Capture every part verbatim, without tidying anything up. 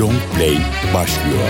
Long Play başlıyor.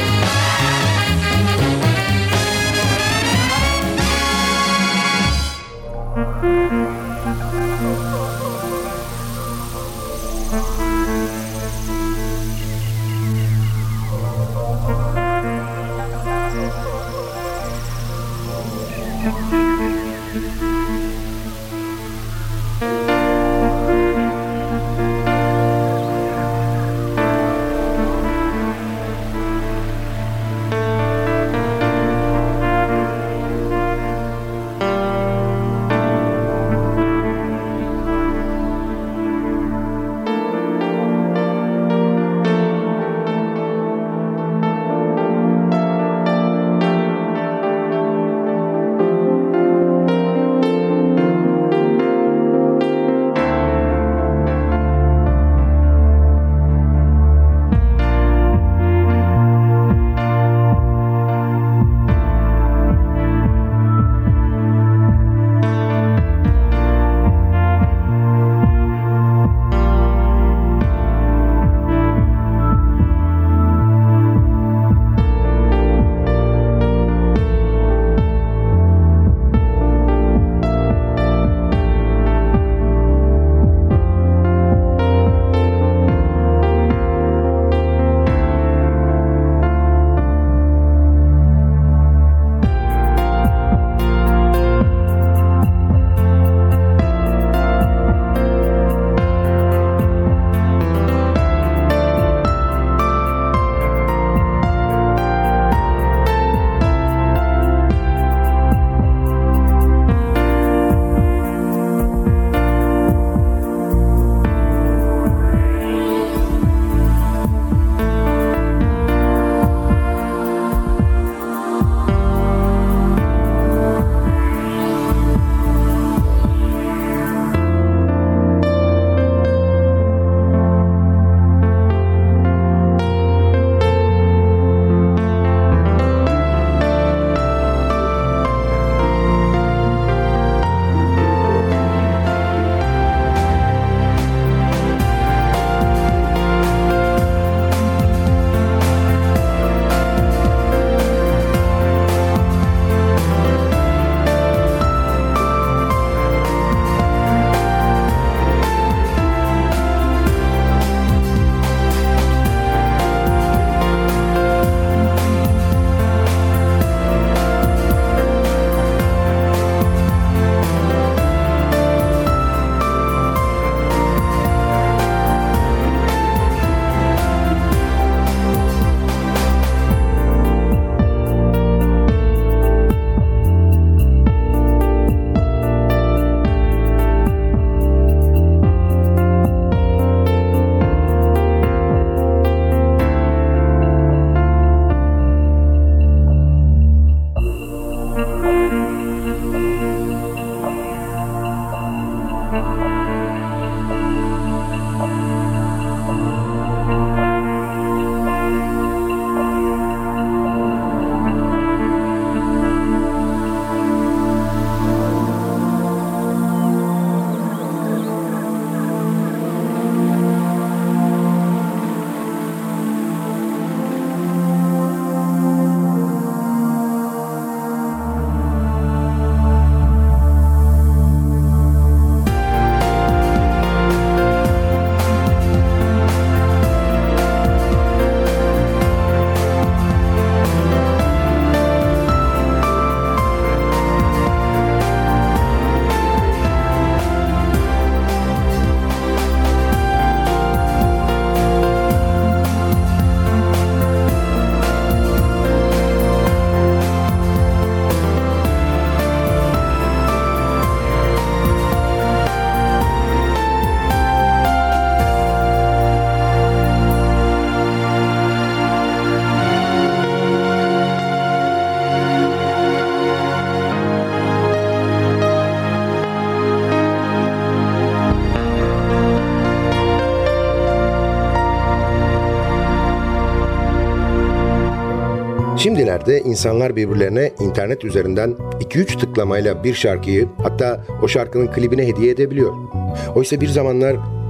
Şimdilerde insanlar birbirlerine internet üzerinden iki üç tıklamayla bir şarkıyı, hatta o şarkının klibini hediye edebiliyor. Oysa bir zamanlar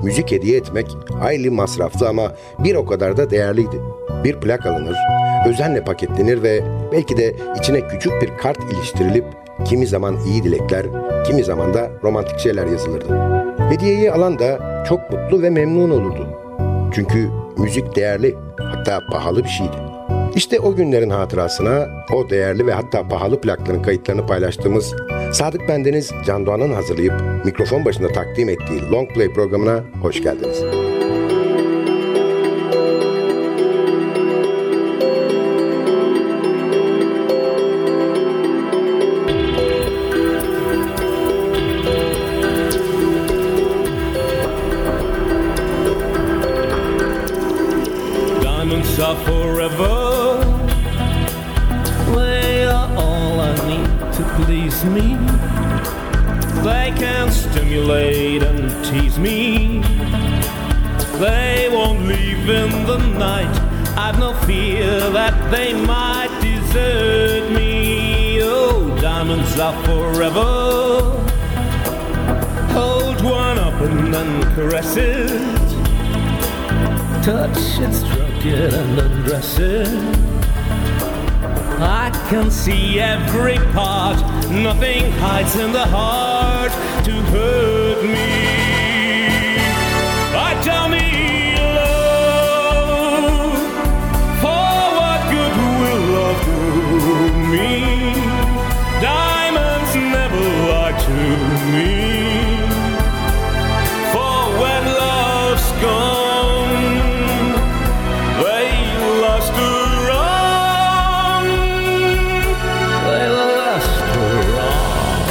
müzik hediye etmek hayli masraflı ama bir o kadar da değerliydi. Bir plak alınır, özenle paketlenir ve belki de içine küçük bir kart iliştirilip kimi zaman iyi dilekler, kimi zaman da romantik şeyler yazılırdı. Hediyeyi alan da çok mutlu ve memnun olurdu. Çünkü müzik değerli, hatta pahalı bir şeydi. İşte o günlerin hatırasına o değerli ve hatta pahalı plakların kayıtlarını paylaştığımız Sadık Bendeniz Can Doğan'ın hazırlayıp mikrofon başında takdim ettiği Long Play programına hoş geldiniz. Diamonds are forever. They are all I need to please me. They can stimulate and tease me. They won't leave in the night. I've no fear that they might desert me. Oh, diamonds are forever. Hold one up and then caress it. Touch it, stroke it and undress it. I can see every part. Nothing hides in the heart to hurt me. I tell me love, for what good will love do me? Diamonds never lie to me. For when love's gone, they last to run. They last to run.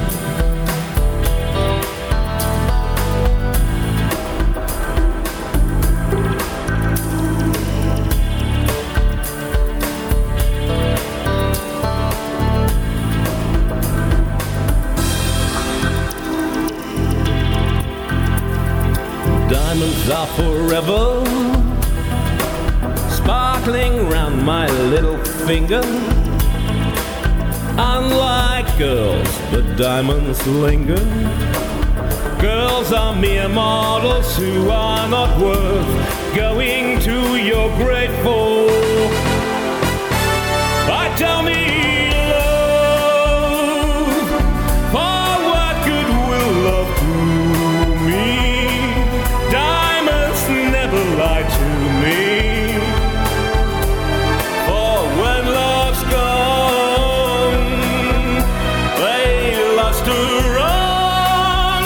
Diamonds are forever, sparkling round my little finger. Unlike girls, the diamonds linger. Girls are mere mortals who are not worth going to your grave for. But tell me love, for what good will love do me? Diamonds never lie to me. For when love's gone, they lost to run.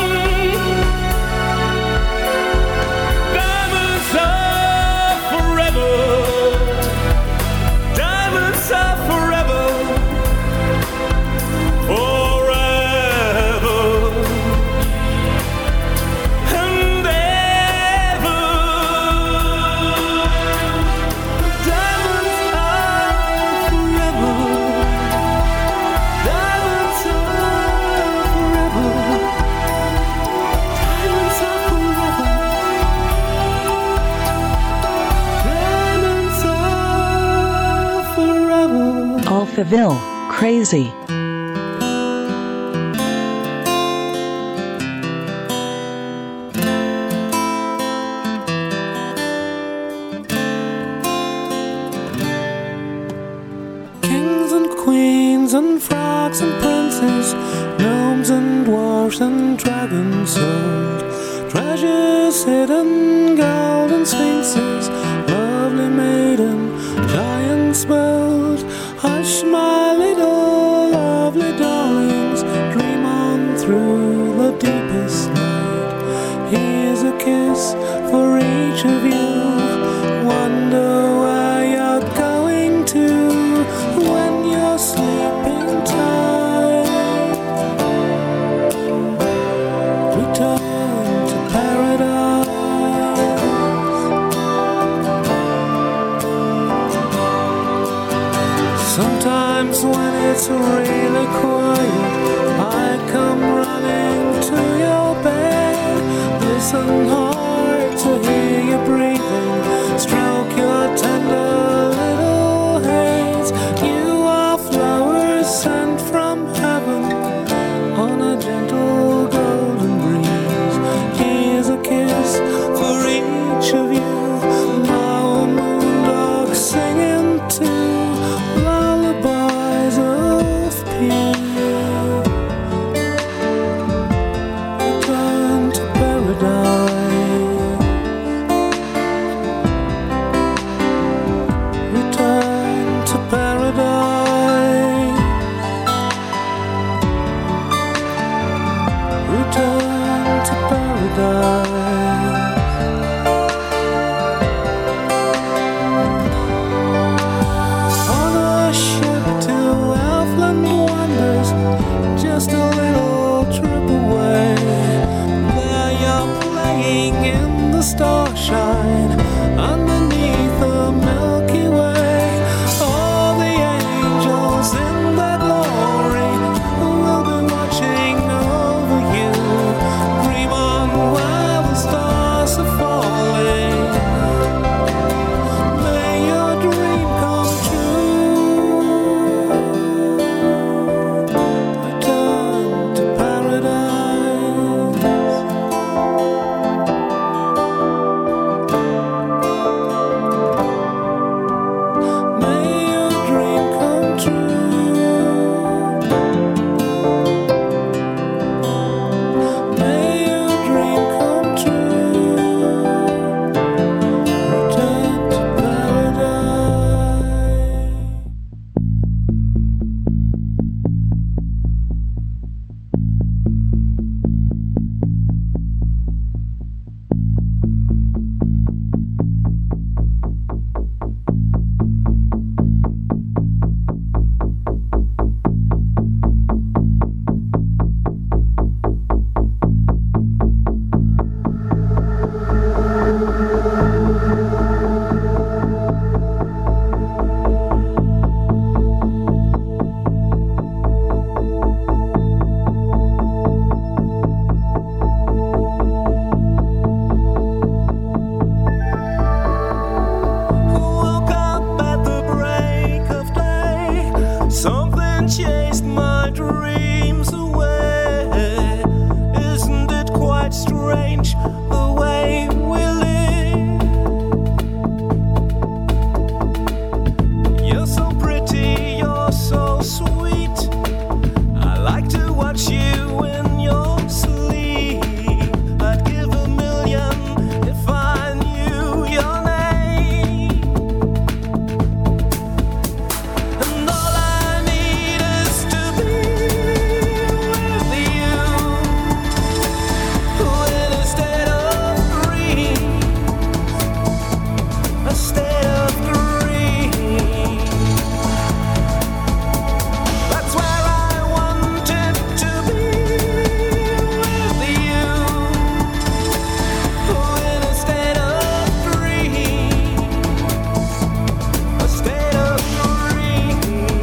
Diamonds are forever. Diamonds are forever. Forever. And ever. Diamonds are forever. Diamonds are forever. Diamonds are forever. Diamonds are forever. Alphaville, crazy. Kings and queens and frogs and princes, gnomes and dwarfs and dragons sold, treasures hidden, golden sphinxes, lovely maiden, giants bold. Hush, my little lovely darlings, dream on through the deepest night. Here's a kiss for each of you. Wonder where you're going to when you're sleeping tight. Return to paradise. Sometimes when it's really quiet, I come running to your bed. Listen hard to hear you breathing, stroke your tender little heads. You are flowers sent from heaven on a gentle golden breeze. Here's a kiss the stars shine underneath the Milky Way. All the angels in their glory will be watching over you. Dream on while the stars are falling. May your dream come true. Return to paradise. May your dream come true. May your dream come true. Return to paradise. Woke up at the break of day. Something chased my dreams away. Isn't it quite strange the way we live? You're so pretty, you're so sweet. I like to watch you in your sleep. I'd give a million if I knew your name. And all I need is to be with you, in a state of dream, a state of dream. That's where I wanted to be with you, in a state of dream, a state of dream.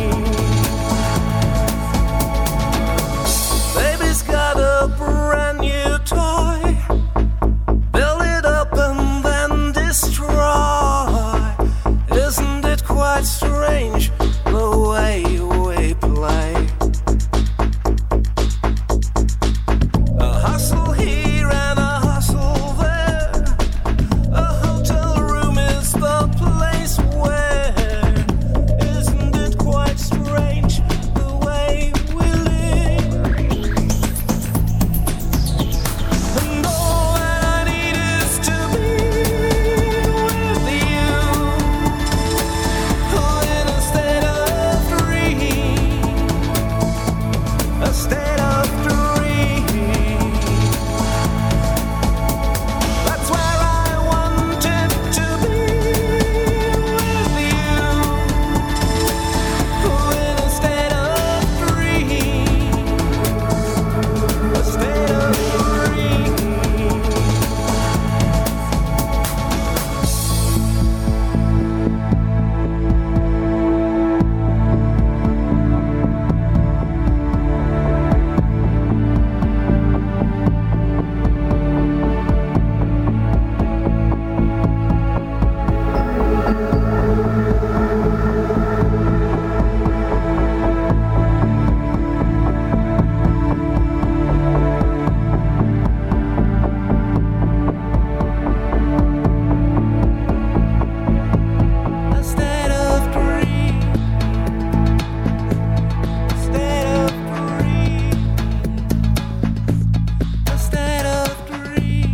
Baby's got a brand new toy. Build it up and then destroy. Isn't it quite strange the way we play? A hustle here and a hustle there. A hotel room is the place where. Isn't it quite strange the way we live? And all that I need is to be with you, in a state of dream, a state of dream. That's where I wanted to be with you, in a state of dream, a state of dream. A state of dream, a state of dream, a state of dream,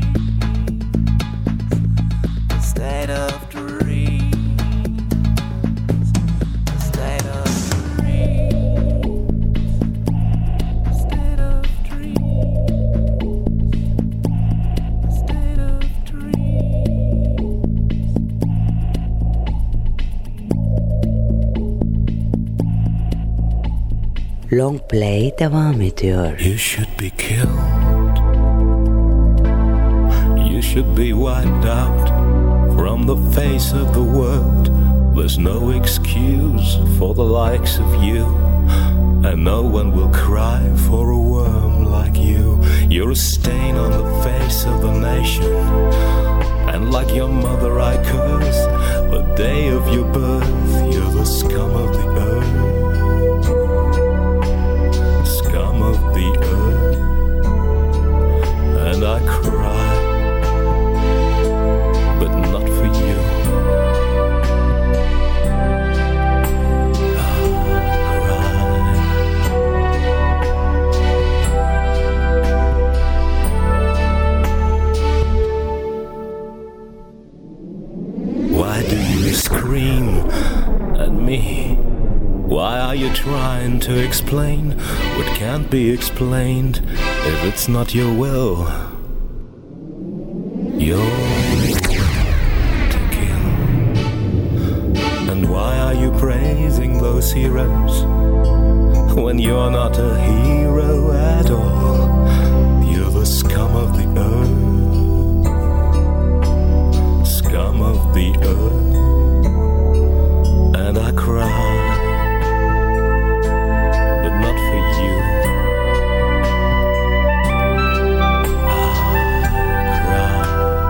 a state of dream, a state of dream, a state of dream, a state of Long Play devam ediyor. You should be killed. You should should be wiped out from the face of the world. There's no excuse for the likes of you, and no one will cry for a worm like you. You're a stain on the face of the nation, and like your mother I curse the day of your birth. You're the scum of the earth, scum of the earth, and I cry, but not for you. Why do you scream at me? Why are you trying to explain what can't be explained if it's not your will? Your will to kill. And why are you praising those heroes when you're not a hero at all? You're the scum of the earth, scum of the earth, and I cry, but not for you. I cry.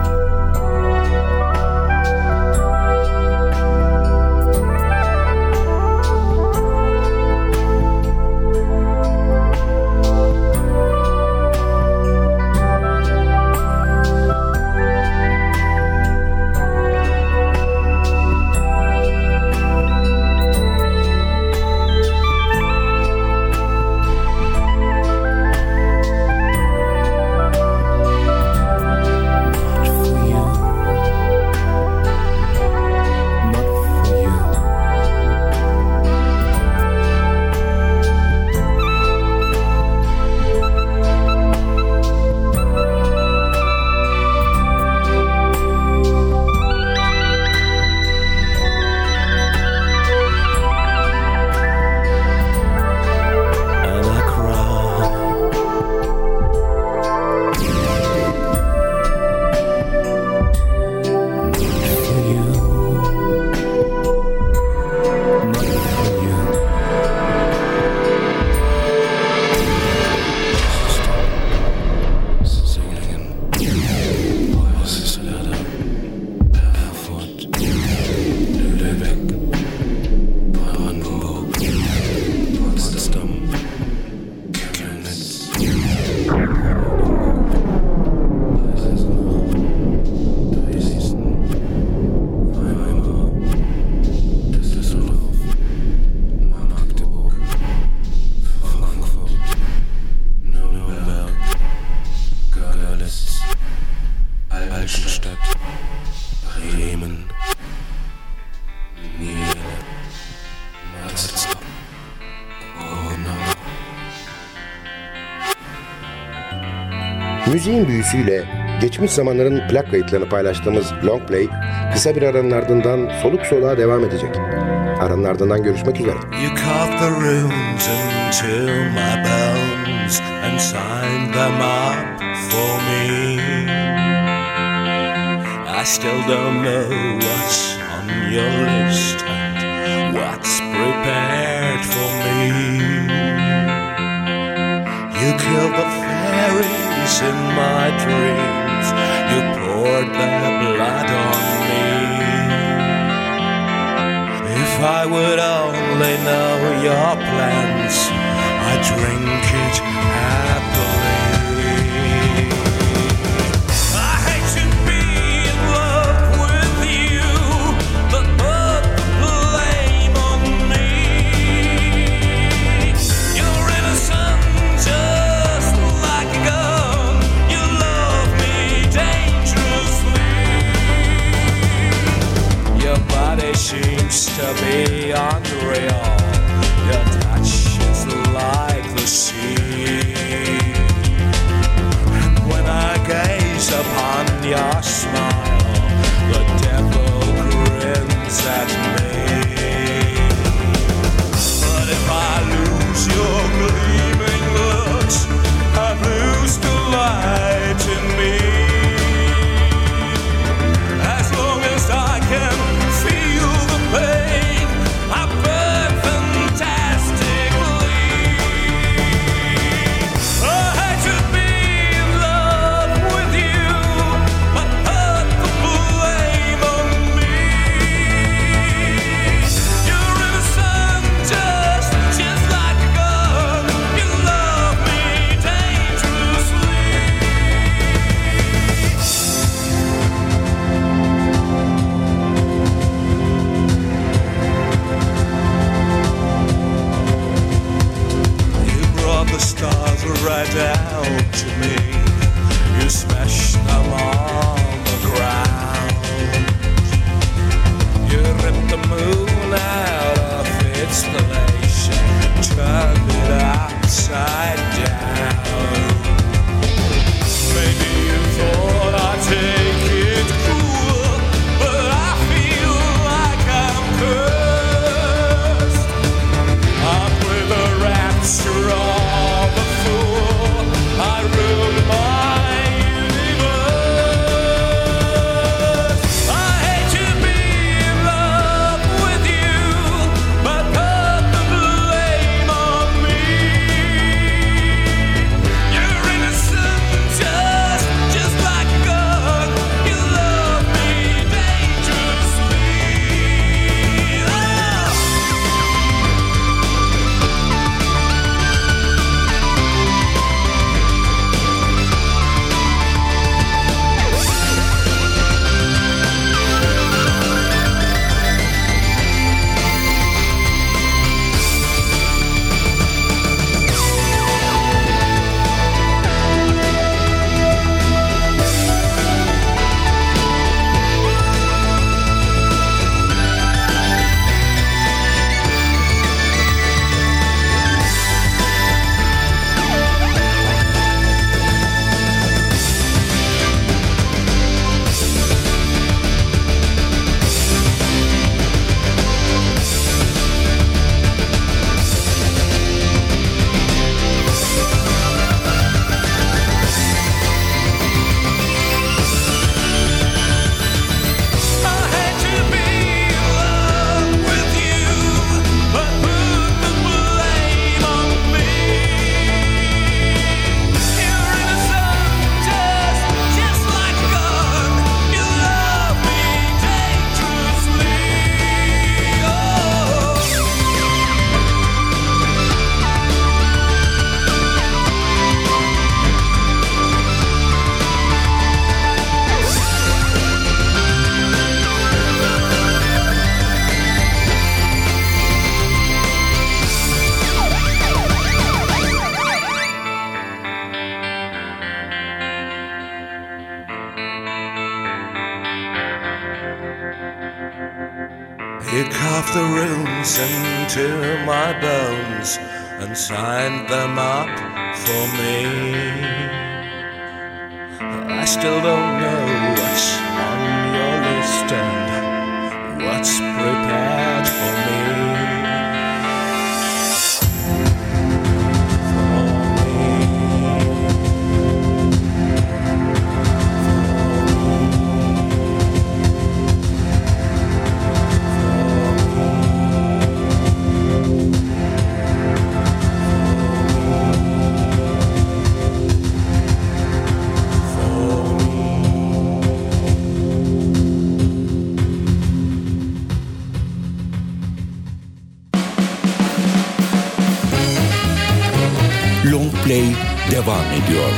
Müziğin büyüsüyle geçmiş zamanların plak kayıtlarını paylaştığımız Long Play kısa bir aranın ardından soluk soluğa devam edecek. Aranın ardından görüşmek üzere. You carved the runes into my bones and signed them up for me. I still don't know what's on your list and what's prepared for me. You killed the fairies in my dreams. You poured their blood on me. If I would only know your plans, I'd drink it happily. I hate to be in love with you, but put the blame on me. You're innocent, just like a gun. You love me dangerously. Your body seems to be unreal. Your touch is like the sea. And when I gaze upon your smile, the devil grins at me. But if I lose your gleaming looks, I lose the light in me. He carved the runes into my bones and signed them up for me. I still don't know what's on your list and what's prepared for me. Long Play devam ediyor.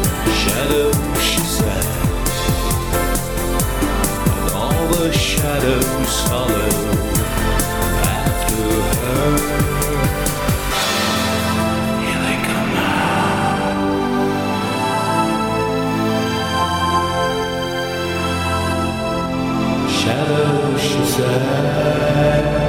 Shadow, she said, and all the shadows solid after her. Here they come now. Shadow, she said.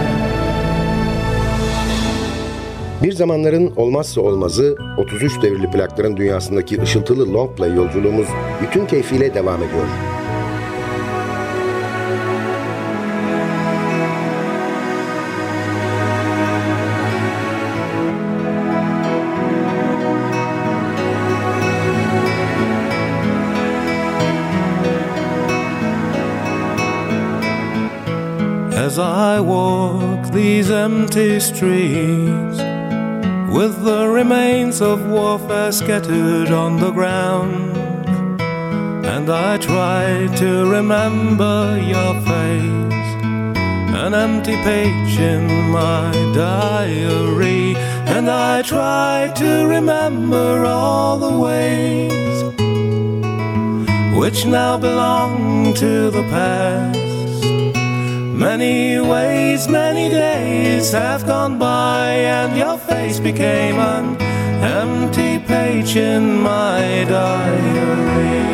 Bir zamanların olmazsa olmazı otuz üç devirli plakların dünyasındaki ışıltılı long play yolculuğumuz bütün keyfiyle devam ediyor. As I walk these empty streets, with the remains of warfare scattered on the ground, and I try to remember your face, an empty page in my diary, and I try to remember all the ways which now belong to the past. Many ways, many days have gone by, and your face became an empty page in my diary.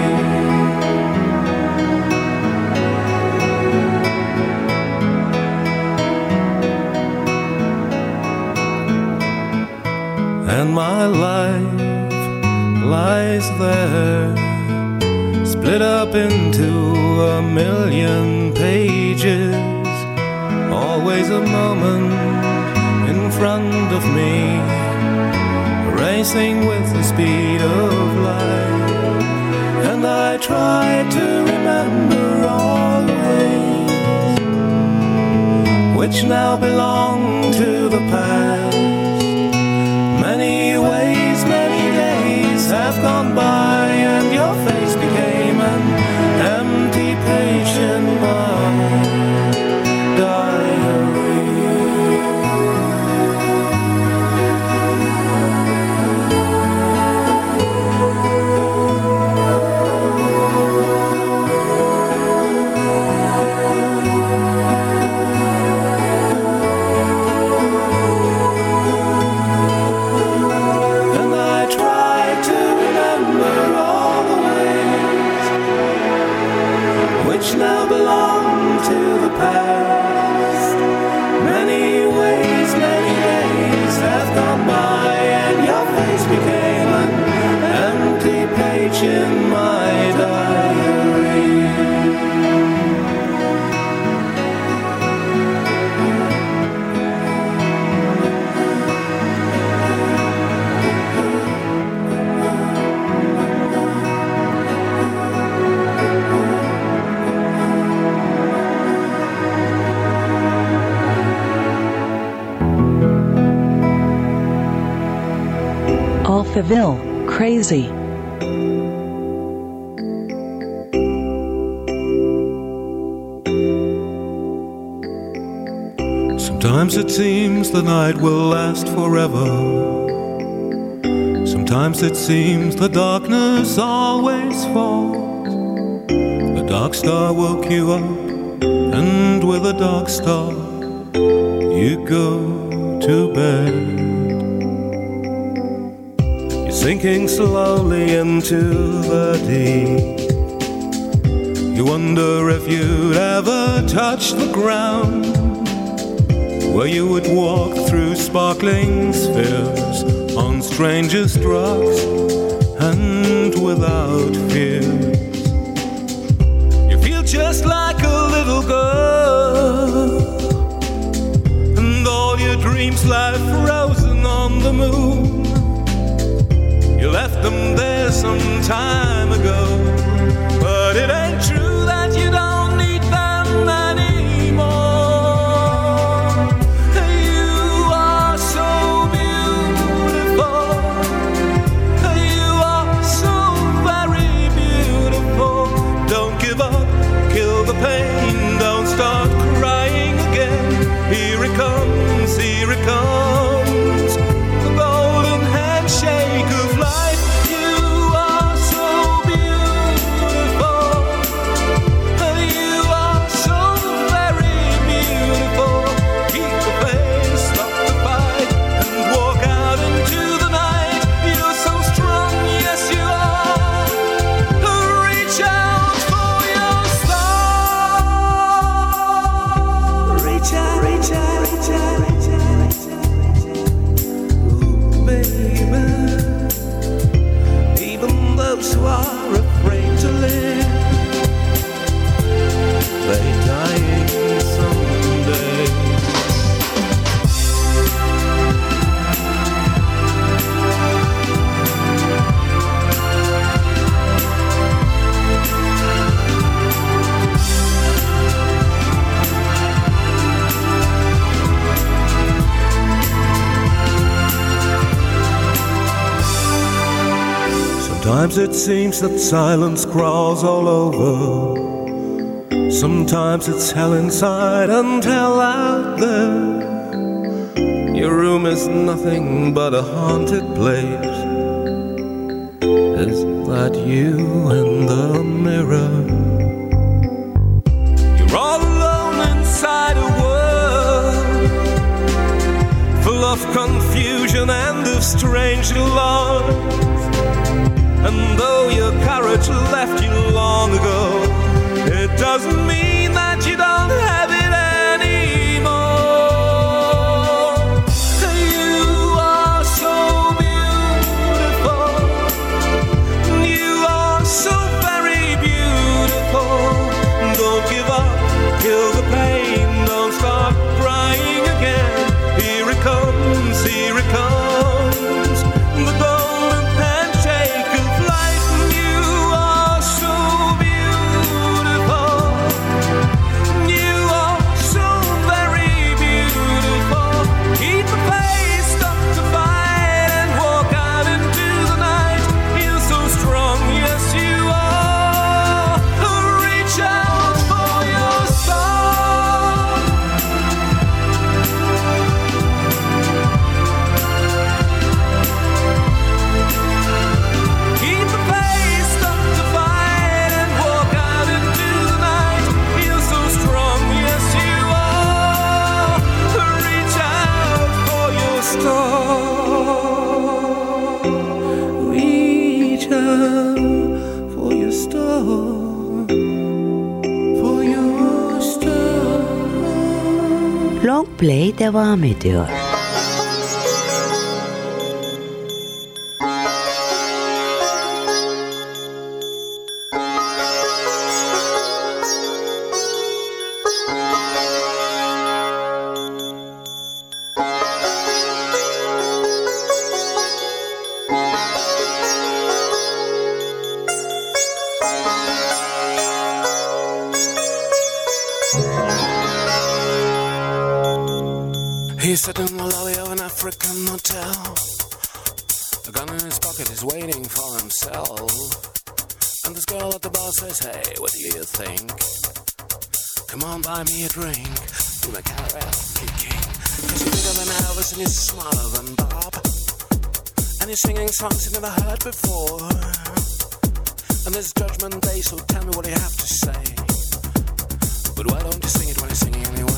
And my life lies there, split up into a million pages. Always a moment in front of me, racing with the speed of light. And I try to remember all the ways which now belong to the past. Many ways, many days have gone by, and your face became an empty page in my diary. And I try to remember all the ways which now belong to the past. Many ways, many days have gone by, and your face became an empty page in my diary. Alphaville, Crazy. Sometimes it seems the night will last forever. Sometimes it seems the darkness always falls. The dark star woke you up, and with a dark star you go to bed. Sinking slowly into the deep, you wonder if you'd ever touch the ground, where you would walk through sparkling spheres on strangest rocks and without fears. You feel just like a little girl, and all your dreams lie frozen on the moon. You left them there some time ago, but it ain't true that you don't need them anymore. You are so beautiful, you are so very beautiful. Don't give up, kill the pain, don't start crying again. Here it comes, here it comes, the golden handshake of life. You are so beautiful. Sometimes it seems that silence crawls all over. Sometimes it's hell inside and hell out there. Your room is nothing but a haunted place. Is that you in the mirror? You're all alone inside a world full of confusion and of strange love. And though your courage left you long ago, it doesn't mean that you don't have it anymore. You are so beautiful. You are so very beautiful. Don't give up, kill the pain. Don't start crying again. Here it comes, here it comes. The golden handshake of life. You are so beautiful. You are so very beautiful. Keep the faith, stop the fight, and walk out into the night. You're so strong, yes you are. Reach out for your star. Keep the faith, stop the fight, and walk out into the night. You're so strong, yes you are. Reach out for your star. Reach out for your star. For your star. Long Play devam ediyor. He's sitting in the lobby of an African hotel. A gun in his pocket, he's waiting for himself. And this girl at the bar says, hey, what do you think? Come on, buy me a drink. Do my karaoke king. Cause you're bigger than Elvis and you're smarter than Bob. And you're singing songs you never heard before. And there's Judgment Day, so tell me what you have to say. But why don't you sing it when you're singing anyway?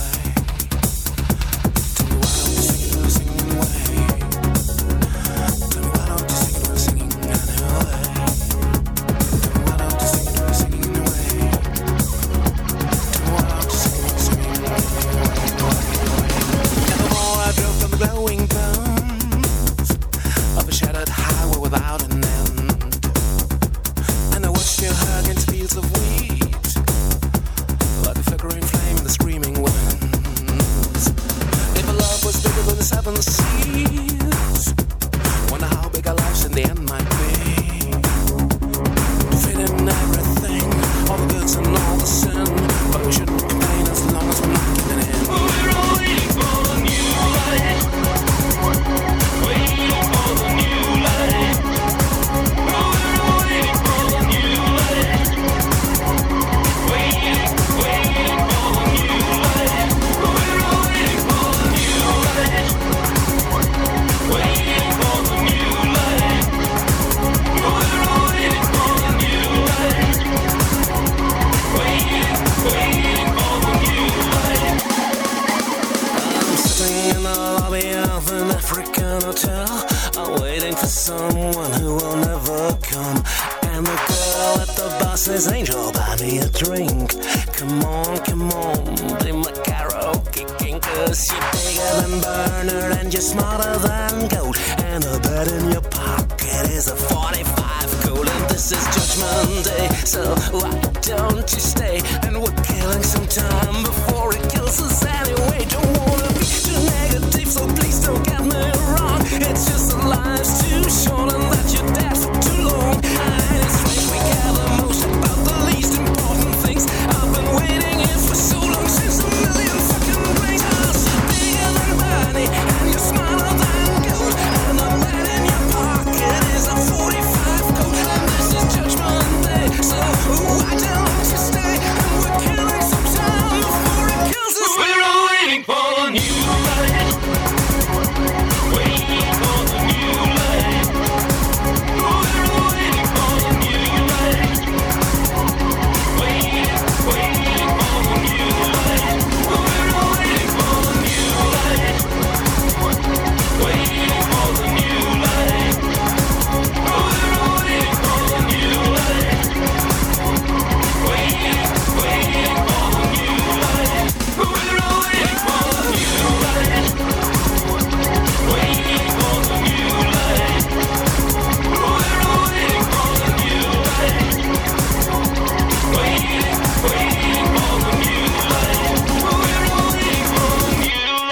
Smaller than gold, and the bed in your pocket is a forty-five coat.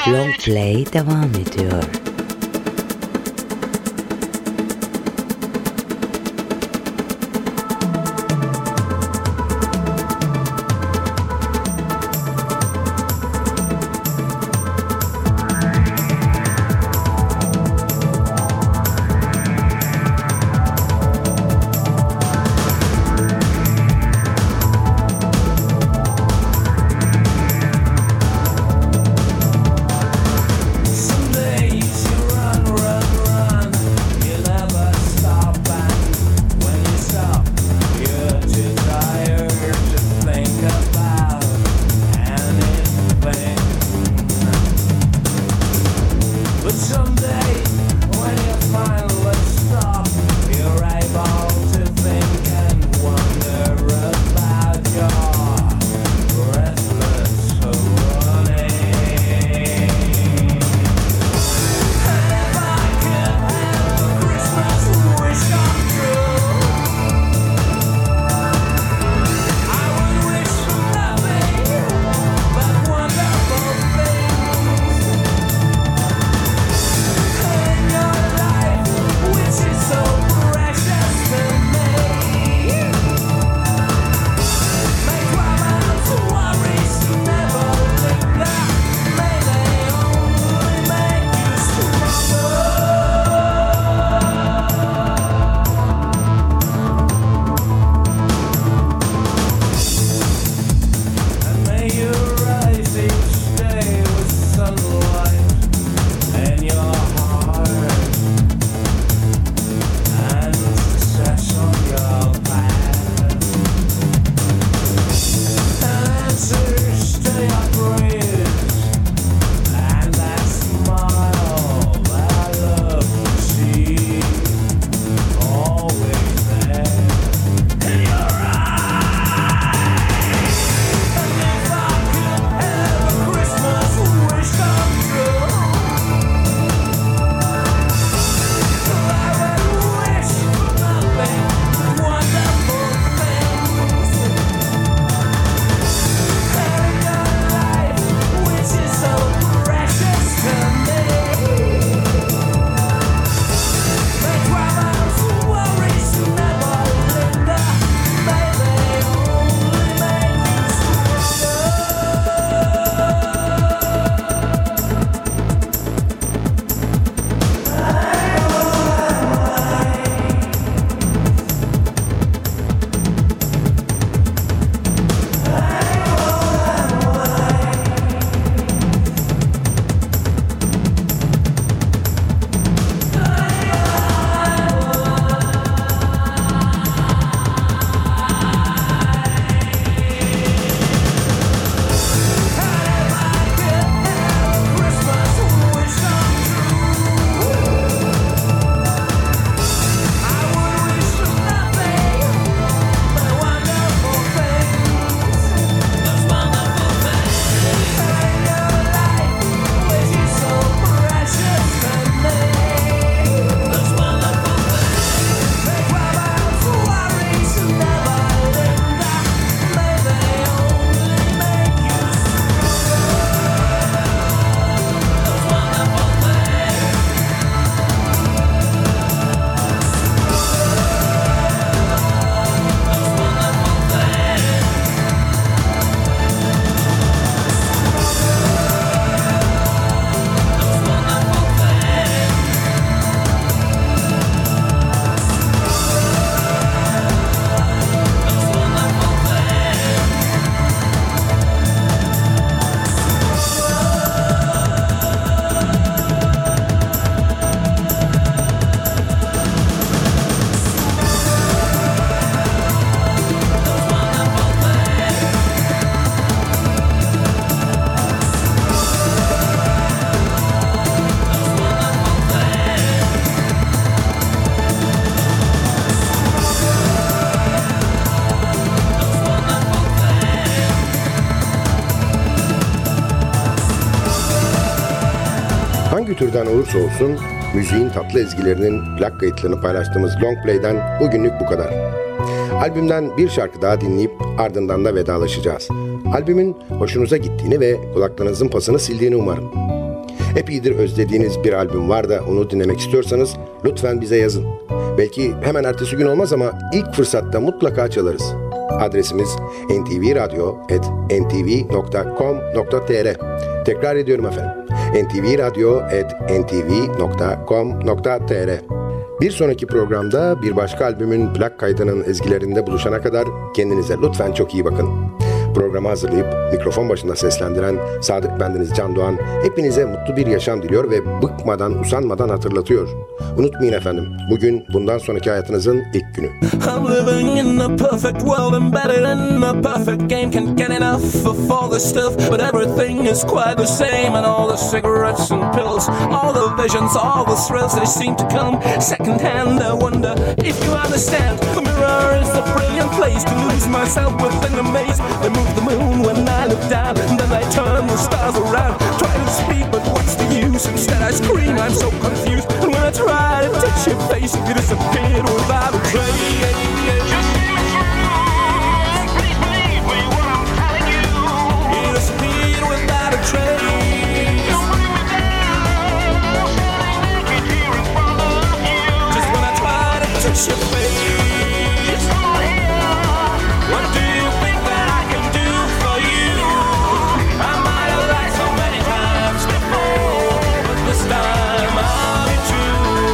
Long Play devam ediyor. Hangi türden olursa olsun müziğin tatlı ezgilerinin plak kayıtlarını paylaştığımız Long Play'den bugünlük bu kadar. Albümden bir şarkı daha dinleyip ardından da vedalaşacağız. Albümün hoşunuza gittiğini ve kulaklarınızın pasını sildiğini umarım. epeydir özlediğiniz bir albüm var da onu dinlemek istiyorsanız lütfen bize yazın. Belki hemen ertesi gün olmaz ama ilk fırsatta mutlaka çalarız. Adresimiz en ti vi radyo at en ti vi nokta com nokta tr. Tekrar ediyorum efendim. en ti vi radyo at en ti vi nokta com nokta tr. Bir sonraki programda bir başka albümün plak kaydının ezgilerinde buluşana kadar kendinize lütfen çok iyi bakın. Programı hazırlayıp mikrofon başında seslendiren Sadık bendeniz Can Doğan hepinize mutlu bir yaşam diliyor ve bıkmadan, usanmadan hatırlatıyor. Unutmayın efendim, bugün bundan sonraki hayatınızın ilk günü. I'm living in a perfect world, embedded in a perfect game. Can't get enough of all this stuff, but everything is quite the same. And all the cigarettes and pills, all the visions, all the thrills, they seem to come second hand. I wonder if you understand. The mirror is a brilliant place to lose myself within a maze. They move the moon when I look down, and then they turn the stars around. Try to speak, but what's the use? Instead I scream, I'm so confused. And when I try to touch your face, you disappeared without a trace. Just see me through, please believe me what I'm telling you. You disappeared without a trace. Don't bring me down, standing naked here in front of you. Just when I try to touch your face, it's not here. What do you think that I can do for you? I might have lied so many times before, but this time I'll be true.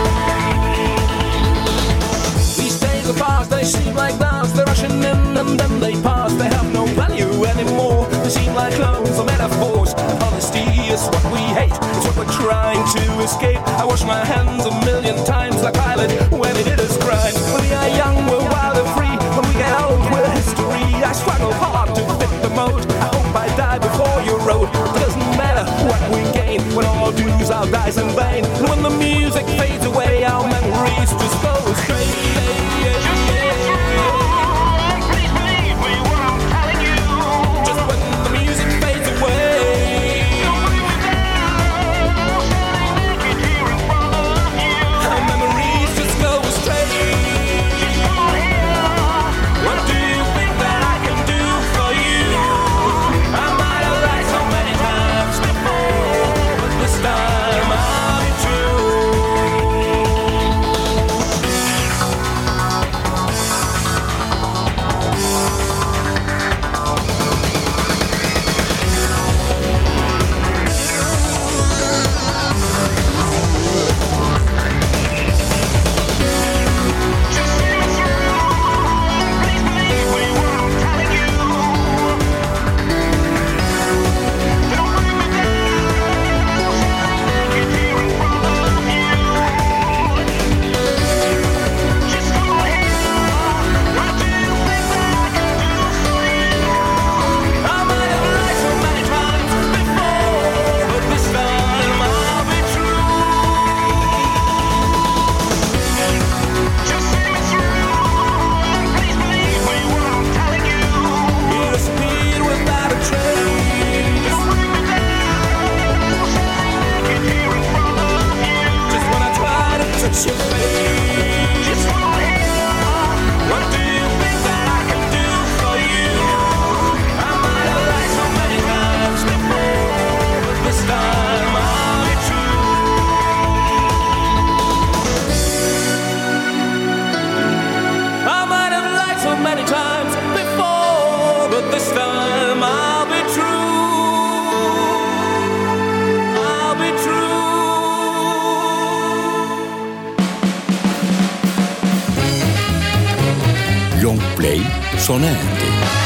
These days are fast, they seem like clouds. They're rushing in and then they pass. They have no value anymore. They seem like clones or metaphors. Honesty is what we hate, it's what we're trying to escape. I wash my hands a million times like Pilate when he did his crime. When we are young, we're wild and free. When we get old, we're history. I struggle hard to fit the mode. I hope I die before you wrote. It doesn't matter what we gain when all dues our dies in vain. And when the music fades away, our memories just go astray. Please believe me what I'm telling you. Just when the music fades away, don't bring me down, standing naked here in front of you. Our memories just go astray. It's not here. What do you think that I can do for you? I might have lied so many times before, but this time I'll be true. Just see me through, please believe me what I'm telling you. Don't bring me down, standing naked here in front of you. Just come here, what do you think that I can do for you? I might have lied so many times before, but this time I'll be true. Just see me through, please believe me what I'm telling you. You disappeared without a trace. Don't bring me down, standing naked here in front of you. Just when I try to touch your face, it's not here. What do you think that I can do for you? I might have lied so many times before, but this time I'll be true. I might have lied so many times before, but this time I'll be true. I'll be true. Long Play sona erdi.